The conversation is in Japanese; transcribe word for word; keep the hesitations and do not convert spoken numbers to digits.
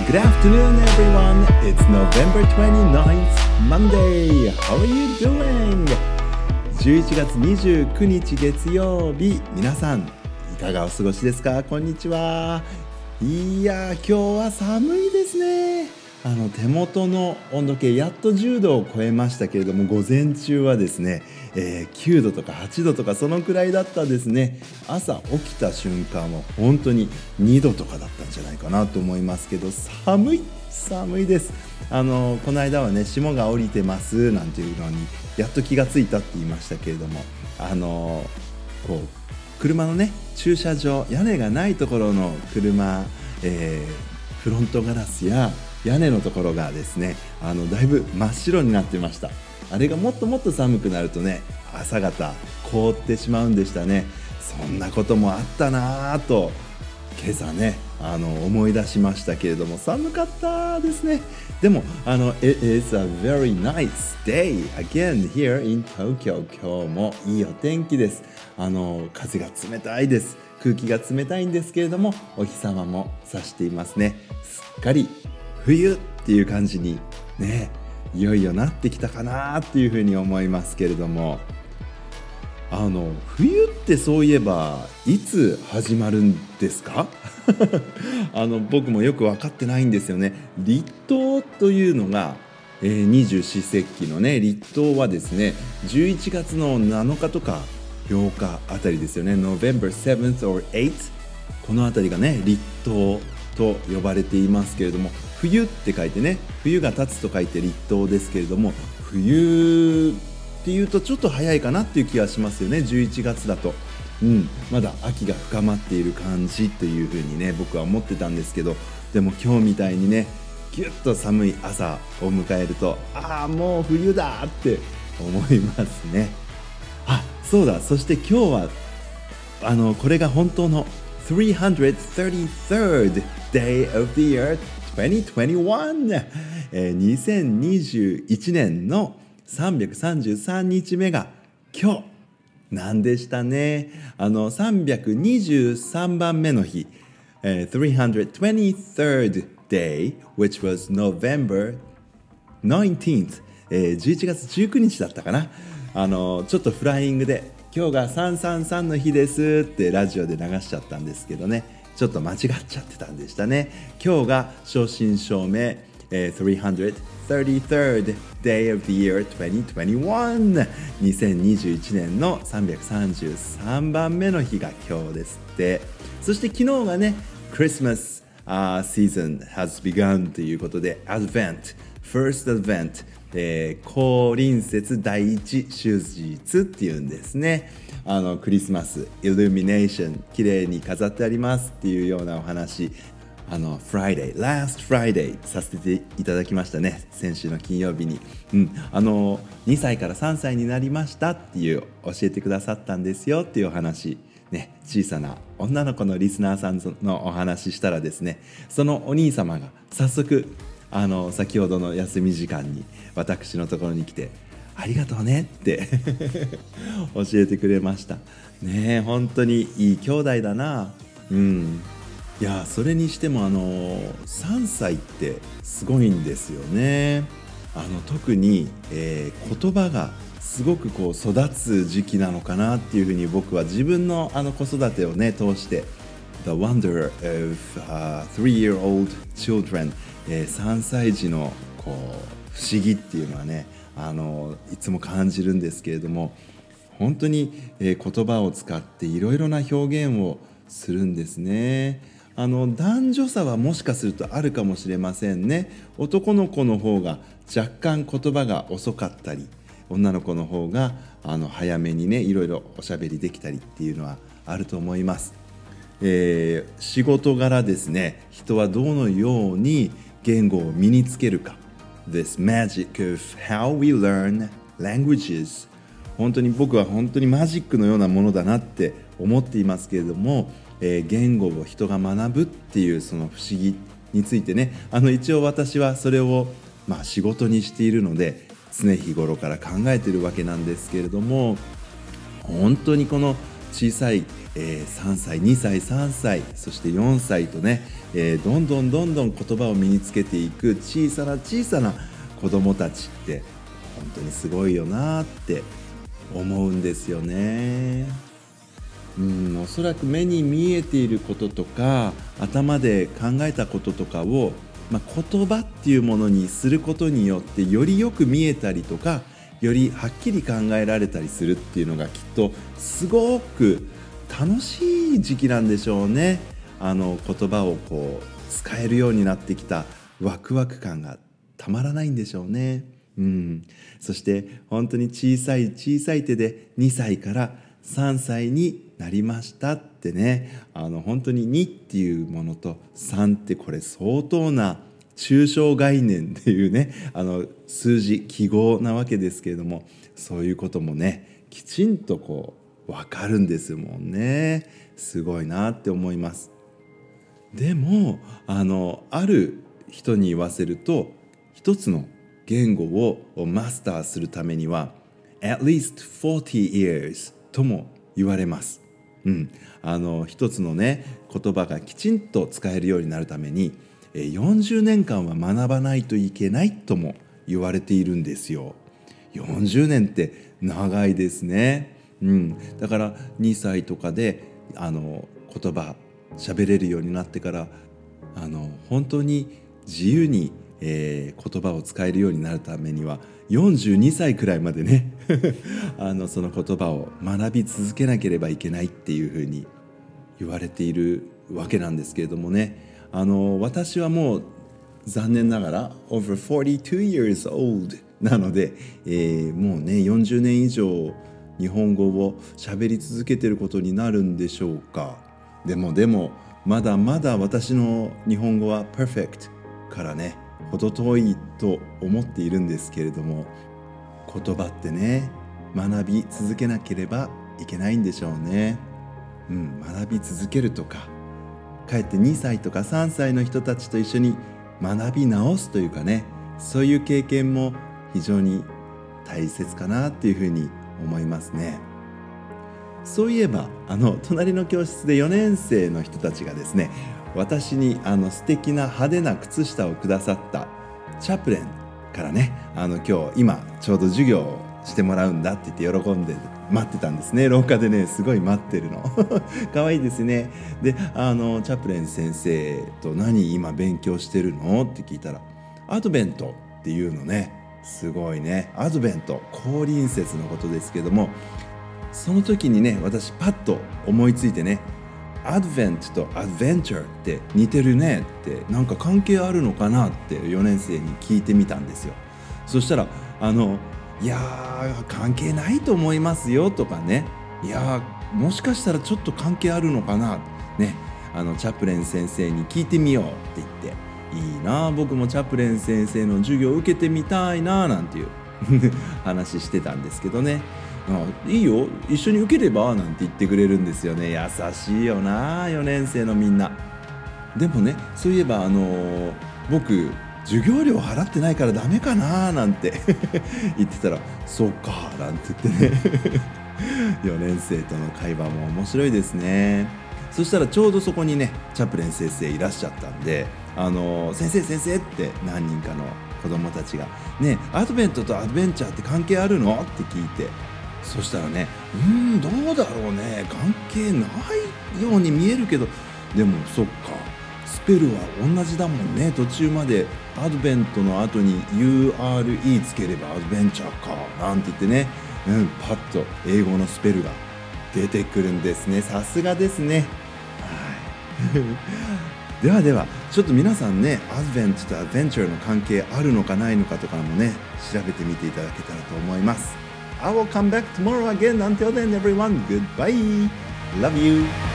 Good afternoon, everyone. It's November twenty-ninth, Monday. How are you doing? じゅういちがつにじゅうくにち月曜日、皆さんいかがお過ごしですか？こんにちは。いやー、今日は寒いですね。あの手元の温度計やっとじゅうどを超えましたけれども、午前中はですね、えー、きゅうどとかはちどとかそのくらいだったですね。朝起きた瞬間は本当ににどとかだったんじゃないかなと思いますけど、寒い寒いです。あのこの間はね、霜が降りてますなんていうのにやっと気がついたって言いましたけれども、あのこう車のね、駐車場、屋根がないところの車、えー、フロントガラスや屋根のところがですね、あのだいぶ真っ白になってました。あれがもっともっと寒くなるとね、朝方凍ってしまうんでしたね。そんなこともあったなぁと今朝ね、あの思い出しましたけれども、寒かったですね。でもあの It is a very nice day again here in Tokyo。 今日もいいお天気です。あの風が冷たいです。空気が冷たいんですけれども、お日様も差していますね。すっかり冬っていう感じにね、いよいよなってきたかなっていうふうに思いますけれども、あの冬ってそういえばいつ始まるんですか？あの僕もよく分かってないんですよね。立冬というのが、えー、二十四節気のね、立冬はですね、じゅういちがつのなのかとかようかあたりですよね。 November seventh or eighth、 このあたりがね、立冬と呼ばれていますけれども、冬って書いてね、冬が経つと書いて立冬ですけれども、冬っていうとちょっと早いかなっていう気がしますよね。じゅういちがつだと、うん、まだ秋が深まっている感じというふうにね、僕は思ってたんですけど、でも今日みたいにね、ぎゅっと寒い朝を迎えると、ああもう冬だって思いますね。あ、そうだ、そして今日はあのこれが本当のさんびゃくさんじゅうさん day of the year twenty twenty-one、えー、にせんにじゅういちねんのさんびゃくさんじゅうさんにちめが今日なんでしたね。あのさんびゃくにじゅうさんばんめの日、えー、さんびゃくにじゅうさん day which was November nineteenth、えー、じゅういちがつじゅうくにちだったかな。あのちょっとフライングで今日がさんさんさんの日ですってラジオで流しちゃったんですけどね、ちょっと間違っちゃってたんでしたね。今日が正真正銘、えー、さんびゃくさんじゅうさん day of the year twenty twenty-one、 にせんにじゅういちねんのさんびゃくさんじゅうさんばんめの日が今日ですって。そして昨日がね、Christmas、uh, season has begun ということで、 Advent First Advent、えー、高臨節第一祝日っていうんですね。あのクリスマスイルミネーション綺麗に飾ってありますっていうようなお話、あの Friday Last Friday させていただきましたね、先週の金曜日に、うん、あのにさいからさんさいになりましたっていう教えてくださったんですよっていうお話ね。小さな女の子のリスナーさんのお話したらですね、そのお兄様が早速あの先ほどの休み時間に私のところに来て、ありがとうねって教えてくれましたね。本当にいい兄弟だな。うん、いやそれにしてもあのさんさいってすごいんですよね。あの特に、えー、言葉がすごくこう育つ時期なのかなっていうふうに僕は自分のあの子育てをね通して The wonder of、uh, three-year-old children、えー、さんさい児のこう不思議っていうのはね、あのいつも感じるんですけれども、本当に、えー、言葉を使っていろいろな表現をするんですね。あの男女差はもしかするとあるかもしれませんね。男の子の方が若干言葉が遅かったり、女の子の方があの早めにねいろいろおしゃべりできたりっていうのはあると思います。えー、仕事柄ですね、人はどのように言語を身につけるか、 This magic of how we learn languages、 本当に僕は本当にマジックのようなものだなって思っていますけれども、えー、言語を人が学ぶっていうその不思議についてね、あの一応私はそれを、まあ、仕事にしているので常日頃から考えているわけなんですけれども、本当にこの小さいえー、さんさいにさいさんさいそしてよんさいとね、えー、どんどんどんどん言葉を身につけていく小さな小さな子どもたちって本当にすごいよなって思うんですよね。うん、おそらく目に見えていることとか頭で考えたこととかを、まあ、言葉っていうものにすることによってよりよく見えたりとかよりはっきり考えられたりするっていうのがきっとすごく楽しい時期なんでしょうね。あの言葉をこう使えるようになってきたワクワク感がたまらないんでしょうね。うん、そして本当に小さい小さい手でにさいからさんさいになりましたってね、あの本当ににっていうものとさんってこれ相当な抽象概念っていうね、あの数字記号なわけですけれども、そういうこともねきちんとこう分かるんですもんね。すごいなって思います。でもあのある人に言わせると一つの言語をマスターするためには at least forty years とも言われます。うん、あの一つのね言葉がきちんと使えるようになるためによんじゅうねんかんは学ばないといけないとも言われているんですよ。よんじゅうねんって長いですね。うん、だからにさいとかであの言葉喋れるようになってからあの本当に自由に、えー、言葉を使えるようになるためにはよんじゅうにさいくらいまでねあのその言葉を学び続けなければいけないっていうふうに言われているわけなんですけれどもね、あの私はもう残念ながら over forty-two years old なので、えー、もうねよんじゅうねん以上日本語を喋り続けていることになるんでしょうか。でもでもまだまだ私の日本語は perfect からね程遠いと思っているんですけれども、言葉ってね学び続けなければいけないんでしょうね。うん、学び続けるとかかえってにさいとかさんさいの人たちと一緒に学び直すというかね、そういう経験も非常に大切かなっていうふうに思いますね。そういえばあの隣の教室でよねん生の人たちがですね、私にあの素敵な派手な靴下をくださったチャプレンからね、あの今日今ちょうど授業をしてもらうんだって言って喜んで待ってたんですね。廊下でねすごい待ってるの可愛いですね。であのチャプレン先生と何今勉強してるのって聞いたらアドベントっていうのね。すごいね。アドベント降臨節のことですけども、その時にね私パッと思いついてね、アドベントとアドベンチャーって似てるねってなんか関係あるのかなってよねん生に聞いてみたんですよ。そしたらあのいやー関係ないと思いますよとかね、いやーもしかしたらちょっと関係あるのかなね、あのチャプレン先生に聞いてみようって言って、いいな僕もチャプレン先生の授業を受けてみたいななんていう話してたんですけどね、あいいよ一緒に受ければなんて言ってくれるんですよね。優しいよなよねん生のみんな。でもねそういえばあのー、僕授業料払ってないからダメかななんて言ってたらそうかなんて言ってねよねん生との会話も面白いですね。そしたらちょうどそこにねチャプレン先生いらっしゃったんで、あのー、先生先生って何人かの子供たちがねアドベントとアドベンチャーって関係あるのって聞いて、そしたらねうーんどうだろうね関係ないように見えるけど、でもそっかスペルは同じだもんね。途中までアドベントの後に ユーアールイー つければアドベンチャーかなんて言ってね、うん、パッと英語のスペルが出てくるんですね。さすがですね。はいではではちょっと皆さんねアドベントとアドベンチャーの関係あるのかないのかとかもね調べてみていただけたらと思います。I will come back tomorrow again. Until then everyone, goodbye. Love you.